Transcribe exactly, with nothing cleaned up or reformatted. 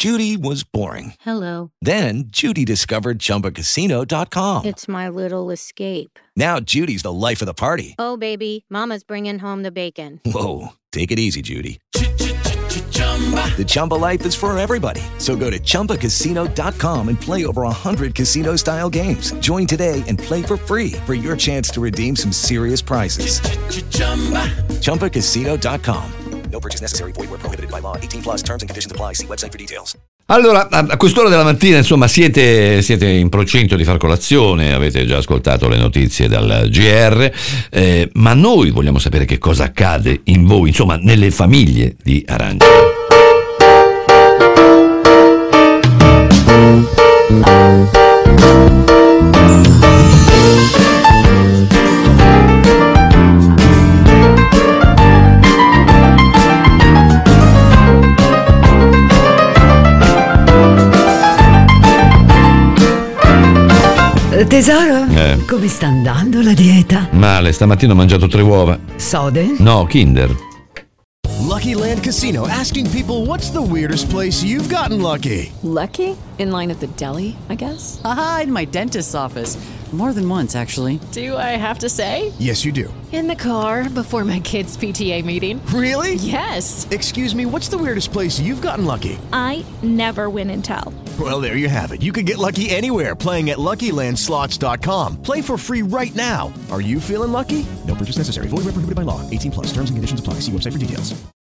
Judy was boring. Hello. Then Judy discovered Chumba Casino dot com. It's my little escape. Now Judy's the life of the party. Oh, baby, mama's bringing home the bacon. Whoa, take it easy, Judy. The Chumba life is for everybody. So go to Chumba Casino dot com and play over one hundred casino-style games. Join today and play for free for your chance to redeem some serious prizes. Chumba Casino dot com. No purchase necessary. Void where prohibited by law. eighteen plus terms and conditions apply. See website for details. Allora, a quest'ora della mattina, insomma, siete, siete in procinto di far colazione, avete già ascoltato le notizie dal G R, eh, ma noi vogliamo sapere che cosa accade in voi, insomma, nelle famiglie di Arancia. Tesoro, Eh. come sta andando la dieta? Male, stamattina ho mangiato tre uova. Sode? No, Kinder. Lucky Land Casino, asking people, what's the weirdest place you've gotten lucky? Lucky? In line at the deli, I guess? Aha, in my dentist's office. More than once, actually. Do I have to say? Yes, you do. In the car before my kids' P T A meeting. Really? Yes. Excuse me, what's the weirdest place you've gotten lucky? I never win and tell. Well, there you have it. You can get lucky anywhere, playing at Lucky Land Slots dot com. Play for free right now. Are you feeling lucky? No purchase necessary. Void where prohibited by law. eighteen plus. Terms and conditions apply. See website for details.